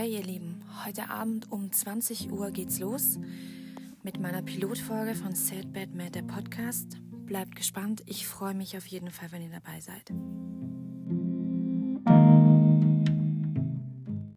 Hey ihr Lieben, heute Abend um 20 Uhr geht's los mit meiner Pilotfolge von Sad Bad Mad, der Podcast. Bleibt gespannt, ich freue mich auf jeden Fall, wenn ihr dabei seid.